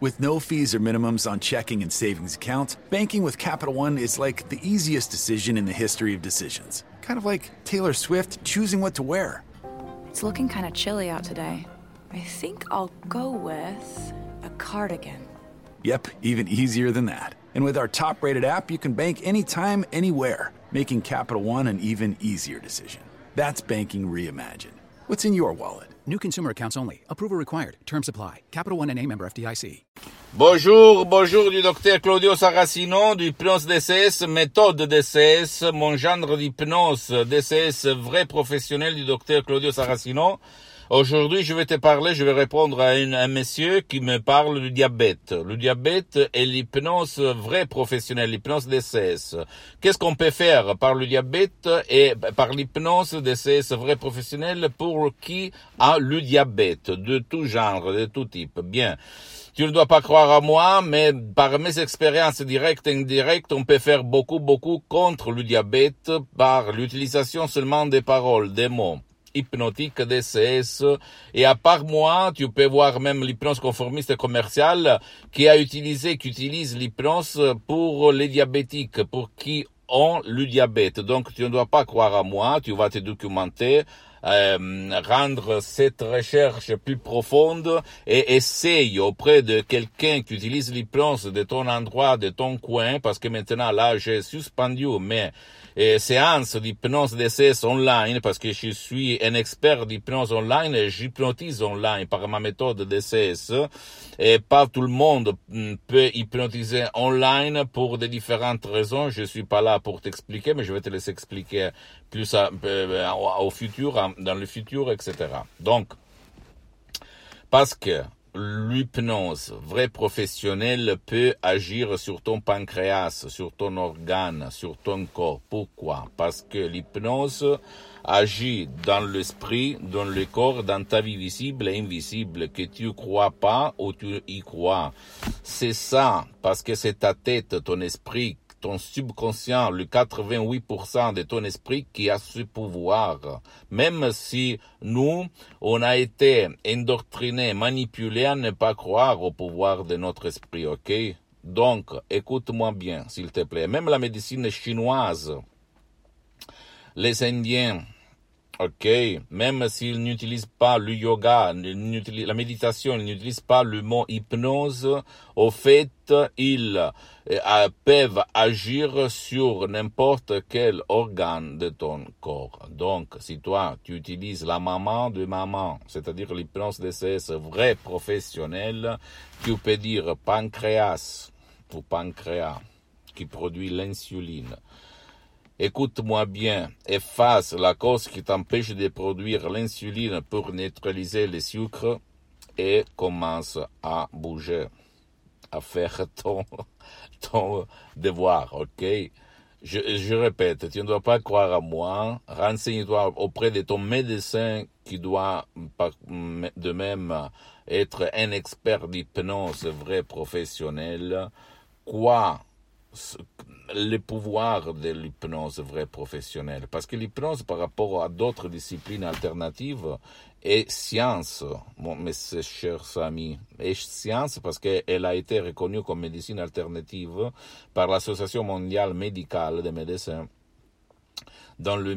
With no fees or minimums on checking and savings accounts, banking with Capital One is like the easiest decision in the history of decisions. Kind of like Taylor Swift choosing what to wear. It's looking kind of chilly out today. I think I'll go with a cardigan. Yep, even easier than that. And with our top-rated app, you can bank anytime, anywhere, making Capital One an even easier decision. That's banking reimagined. What's in your wallet? New consumer accounts only. Approval required. Terms apply. Capital One N.A. member FDIC. Bonjour du docteur Claudio Saracino, du hypnose DCS, méthode DCS, mon genre d'hypnose DCS vrai professionnel du docteur Claudio Saracino. Aujourd'hui, je vais répondre à un monsieur qui me parle du diabète. Le diabète est l'hypnose vraie professionnelle, l'hypnose DCS. Qu'est-ce qu'on peut faire par le diabète et par l'hypnose DCS vraie professionnelle pour qui a le diabète, de tout genre, de tout type? Bien. Tu ne dois pas croire à moi, mais par mes expériences directes et indirectes, on peut faire beaucoup contre le diabète par l'utilisation seulement des paroles, des mots. Hypnotique, DCS, et à part moi, tu peux voir même l'hypnose conformiste commerciale qui utilise l'hypnose pour les diabétiques, pour qui ont le diabète. Donc, tu ne dois pas croire à moi, tu vas te documenter, rendre cette recherche plus profonde et essaye auprès de quelqu'un qui utilise l'hypnose de ton endroit, de ton coin, parce que maintenant là, j'ai suspendu mes séances d'hypnose DCS online, parce que je suis un expert d'hypnose online et j'hypnotise online par ma méthode DCS, et pas tout le monde peut hypnotiser online pour des différentes raisons. Je suis pas là pour t'expliquer, mais je vais te les expliquer plus au futur, dans le futur, etc. Donc, parce que l'hypnose vraie professionnelle peut agir sur ton pancréas, sur ton organe, sur ton corps. Pourquoi? Parce que l'hypnose agit dans l'esprit, dans le corps, dans ta vie visible et invisible, que tu crois pas ou tu y crois. C'est ça, parce que c'est ta tête, ton esprit, ton subconscient, le 88% de ton esprit qui a ce pouvoir. Même si nous, on a été endoctrinés, manipulés à ne pas croire au pouvoir de notre esprit, ok? Donc, écoute-moi bien, s'il te plaît. Même la médecine chinoise, les Indiens, ok, même s'ils n'utilisent pas le yoga, la méditation, ils n'utilisent pas le mot hypnose, au fait, ils peuvent agir sur n'importe quel organe de ton corps. Donc, si toi, tu utilises la maman de maman, c'est-à-dire l'hypnose DCS vrai professionnel, tu peux dire pancréas ou pancréas qui produit l'insuline. Écoute-moi bien, efface la cause qui t'empêche de produire l'insuline pour neutraliser le sucre et commence à bouger, à faire ton devoir, ok? Je répète, tu ne dois pas croire à moi, renseigne-toi auprès de ton médecin qui doit de même être un expert d'hypnose vrai professionnel. Quoi? Le pouvoir de l'hypnose vraie professionnelle. Parce que l'hypnose, par rapport à d'autres disciplines alternatives, est science, mes chers amis. Est science parce qu'elle a été reconnue comme médecine alternative par l'Association mondiale médicale des médecins dans le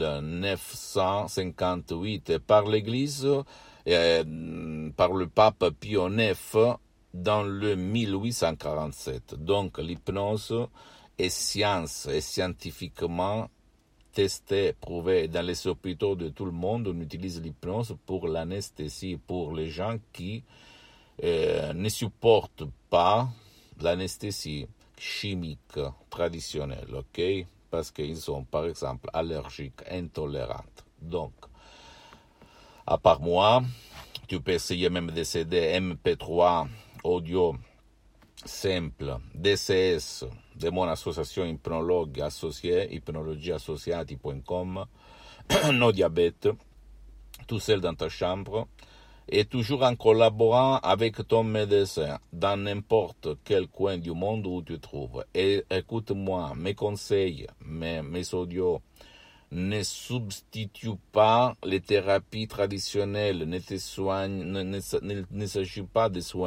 1958 et par l'Église, par le pape Pie IX dans le 1847. Donc l'hypnose est science, est scientifiquement testé, prouvé. Dans les hôpitaux de tout le monde, on utilise l'hypnose pour l'anesthésie, pour les gens qui ne supportent pas l'anesthésie chimique traditionnelle, ok? Parce qu'ils sont, par exemple, allergiques, intolérants. Donc, à part moi, tu peux essayer même des CD MP3 audio simple, DCS, de mon association hypnologue associée, hypnologieassociati.com, no diabète, tout seul dans ta chambre, et toujours en collaborant avec ton médecin, dans n'importe quel coin du monde où tu te trouves. Et écoute-moi, mes conseils, mes audios, ne substitue pas les thérapies traditionnelles, ne s'agit pas de soins.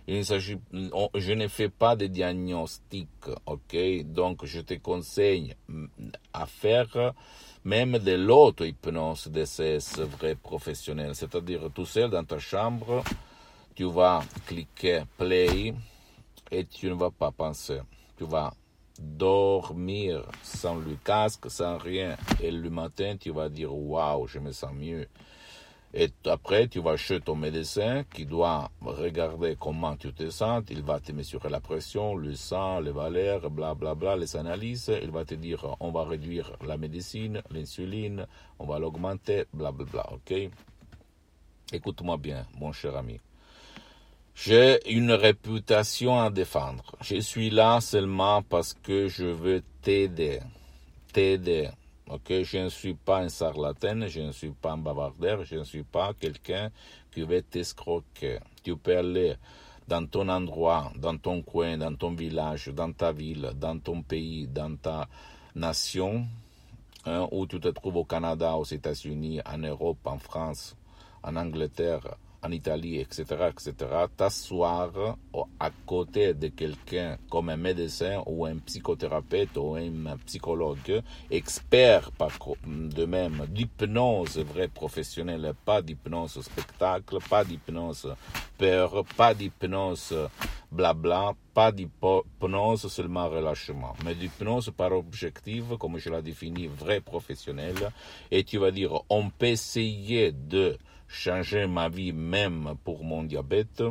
Je ne fais pas de diagnostic, ok? Donc, je te conseille à faire même de l'auto-hypnose DCS vrai professionnel, c'est-à-dire tout seul dans ta chambre, tu vas cliquer play et tu ne vas pas penser. Tu vas dormir sans le casque, sans rien. Et le matin, tu vas dire, waouh, je me sens mieux. Et après, tu vas chez ton médecin qui doit regarder comment tu te sens. Il va te mesurer la pression, le sang, les valeurs, blablabla, les analyses. Il va te dire, on va réduire la médecine, l'insuline, on va l'augmenter, blablabla, ok? Écoute-moi bien, mon cher ami. J'ai une réputation à défendre. Je suis là seulement parce que je veux t'aider. Ok, je ne suis pas un charlatan, je ne suis pas un bavardeur, je ne suis pas quelqu'un qui veut t'escroquer. Tu peux aller dans ton endroit, dans ton coin, dans ton village, dans ta ville, dans ton pays, dans ta nation, où tu te trouves au Canada, aux États-Unis, en Europe, en France, en Angleterre, en Italie, etc., t'asseoir à côté de quelqu'un comme un médecin ou un psychothérapeute ou un psychologue, expert de même d'hypnose vraie professionnelle, pas d'hypnose spectacle, pas d'hypnose peur, pas d'hypnose blabla, pas d'hypnose seulement relâchement, mais d'hypnose par objectif, comme je l'ai défini, vrai professionnel, et tu vas dire, on peut essayer de changer ma vie même pour mon diabète.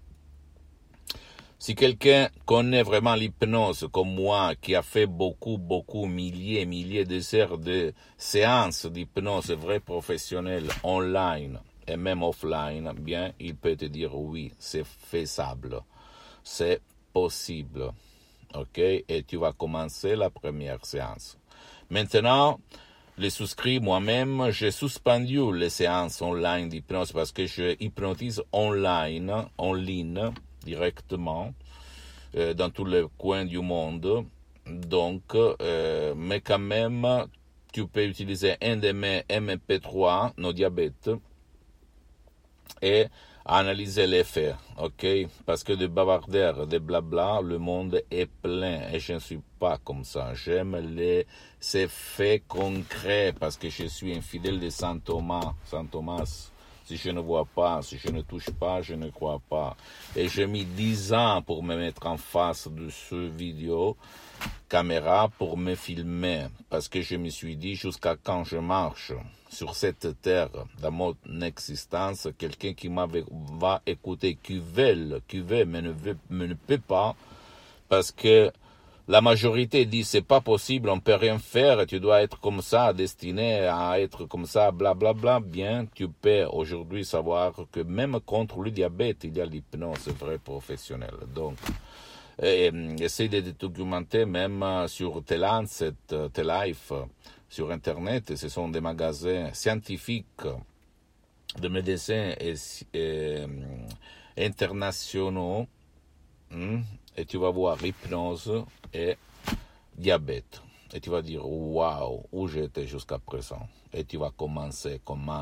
Si quelqu'un connaît vraiment l'hypnose comme moi, qui a fait beaucoup, milliers et milliers d'heures de séances d'hypnose vraie professionnelle online et même offline, bien, il peut te dire oui, c'est faisable, c'est possible, ok? Et tu vas commencer la première séance. Maintenant, les souscrits, moi-même, j'ai suspendu les séances online d'hypnose parce que je hypnotise en ligne, directement, dans tous les coins du monde. Donc, mais quand même, tu peux utiliser un de mes MP3, nos diabètes, et analyser les faits, ok? Parce que de bavardeurs, de blabla, le monde est plein et je ne suis pas comme ça. J'aime ces faits concrets parce que je suis un fidèle de Saint Thomas. Saint Thomas, si je ne vois pas, si je ne touche pas, je ne crois pas. Et j'ai mis 10 ans pour me mettre en face de ce vidéo caméra pour me filmer parce que je me suis dit jusqu'à quand je marche sur cette terre dans mon existence, quelqu'un qui va écouter, qui veut, mais ne peut pas, parce que la majorité dit c'est pas possible, on peut rien faire, tu dois être comme ça, destiné à être comme ça, blablabla. Bien, tu peux aujourd'hui savoir que même contre le diabète, il y a l'hypnose vraie professionnelle. Donc, essaye de te documenter même sur T-Lancet, T-Life, sur Internet. Ce sont des magasins scientifiques de médecins et internationaux. Et tu vas voir hypnose et diabète. Et tu vas dire, waouh, où j'étais jusqu'à présent. Et tu vas commence.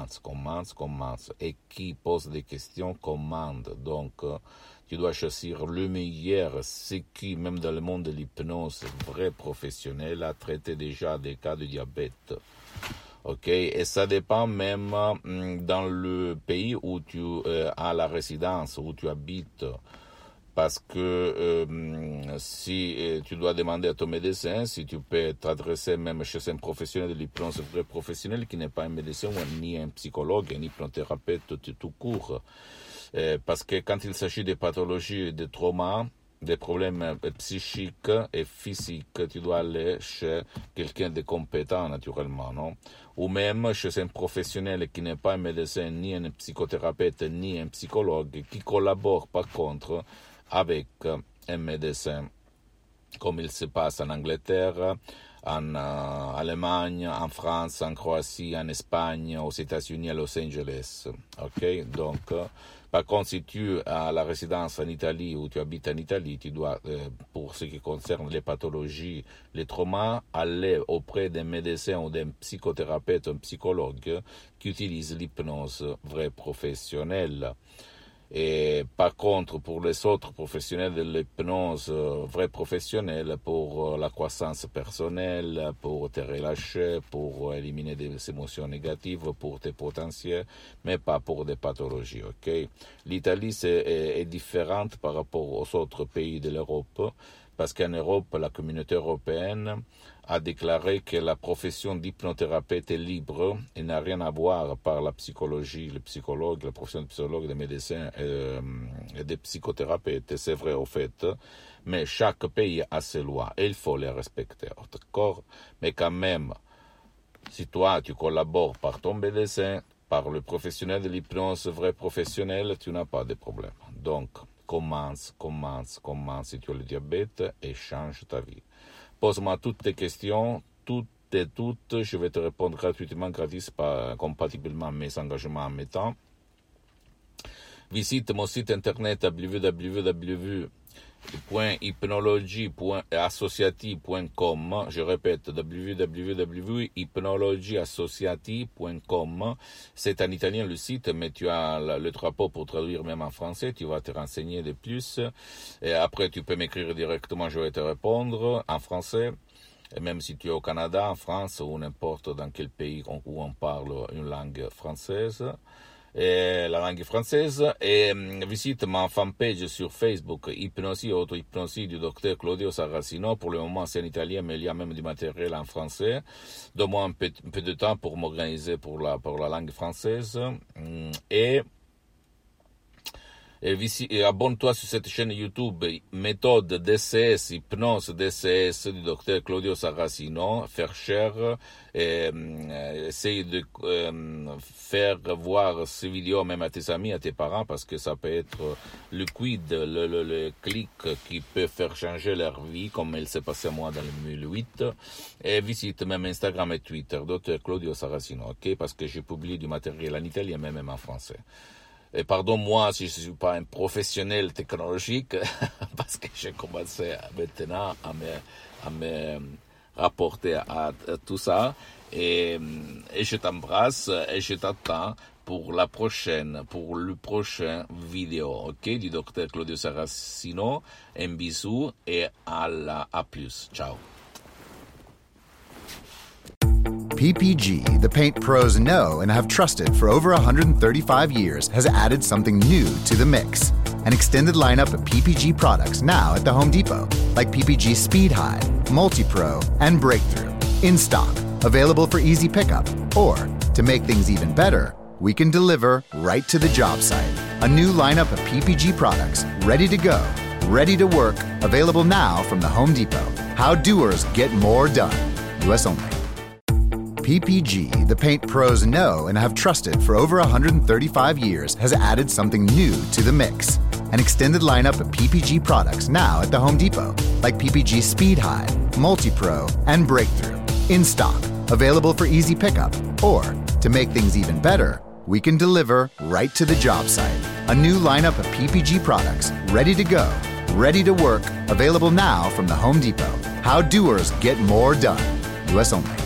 Et qui pose des questions commande. Donc, tu dois choisir le meilleur, ce qui, même dans le monde de l'hypnose, vrai professionnel, a traité déjà des cas de diabète. Ok, et ça dépend même dans le pays où tu as la résidence, où tu habites. Parce que si tu dois demander à ton médecin, si tu peux t'adresser même chez un professionnel de l'hypnose vrai professionnel qui n'est pas un médecin ni un psychologue, un hypnothérapeute tout court. Parce que quand il s'agit de pathologies, de traumas, des problèmes psychiques et physiques, tu dois aller chez quelqu'un de compétent naturellement, non? Ou même chez un professionnel qui n'est pas un médecin, ni un psychothérapeute, ni un psychologue, qui collabore par contre avec un médecin, comme il se passe en Angleterre, en Allemagne, en France, en Croatie, en Espagne, aux États-Unis, à Los Angeles. Ok, donc, par contre, si tu as la résidence en Italie ou tu habites en Italie, tu dois, pour ce qui concerne les pathologies, les traumas, aller auprès d'un médecin ou d'un psychothérapeute, un psychologue qui utilise l'hypnose vraie professionnelle. Et par contre, pour les autres professionnels de l'hypnose, vrais professionnels, pour la croissance personnelle, pour te relâcher, pour éliminer des émotions négatives, pour tes potentiels, mais pas pour des pathologies, ok? L'Italie est différente par rapport aux autres pays de l'Europe, parce qu'en Europe, la communauté européenne a déclaré que la profession d'hypnothérapeute est libre et n'a rien à voir par la psychologie, les psychologues, la profession de psychologue, des médecins et des psychothérapeutes. C'est vrai au fait, mais chaque pays a ses lois et il faut les respecter, d'accord? Mais quand même, si toi tu collabores par ton médecin, par le professionnel de l'hypnose, vrai professionnel, tu n'as pas de problème. Donc, commence si tu as le diabète et change ta vie. Pose-moi toutes tes questions, toutes, je vais te répondre gratuitement, gratis, compatiblement à mes engagements en mes temps. Visite mon site internet www.hypnologie.associati.com. Je répète, www.hypnologieassociati.com. C'est en italien le site, mais tu as le drapeau pour traduire même en français. Tu vas te renseigner de plus. Et après, tu peux m'écrire directement, je vais te répondre en français. Et même si tu es au Canada, en France ou n'importe dans quel pays où on parle une langue française. Et la langue française, et visite ma fanpage sur Facebook, Hypnosie et Auto-Hypnosie du docteur Claudio Saracino. Pour le moment, c'est en italien, mais il y a même du matériel en français. Donne-moi un peu de temps pour m'organiser pour la langue française. Et abonne-toi sur cette chaîne YouTube, méthode DCS, hypnose DCS du docteur Claudio Saracino. Faire cher, essaye de faire voir ces vidéos même à tes amis, à tes parents, parce que ça peut être le quid, le clic qui peut faire changer leur vie, comme il s'est passé à moi dans le 2008. Et visite même Instagram et Twitter, docteur Claudio Saracino, ok, parce que je publie du matériel en italien, mais même en français. Et pardon-moi si je ne suis pas un professionnel technologique, parce que j'ai commencé maintenant à me rapporter à tout ça. Et je t'embrasse et je t'attends pour le prochain vidéo, ok, du docteur Claudio Saracino. Un bisou et à plus. Ciao. PPG, the paint pros know and have trusted for over 135 years, has added something new to the mix. An extended lineup of PPG products now at the Home Depot, like PPG Speed High, Multi-Pro, and Breakthrough. In stock, available for easy pickup. Or, to make things even better, we can deliver right to the job site. A new lineup of PPG products, ready to go, ready to work, available now from the Home Depot. How doers get more done. US only. PPG, the paint pros know and have trusted for over 135 years, has added something new to the mix. An extended lineup of PPG products now at the Home Depot, like PPG Speed High, Multi-Pro, and Breakthrough. In stock, available for easy pickup. Or, to make things even better, we can deliver right to the job site. A new lineup of PPG products, ready to go, ready to work, available now from the Home Depot. How doers get more done. US only.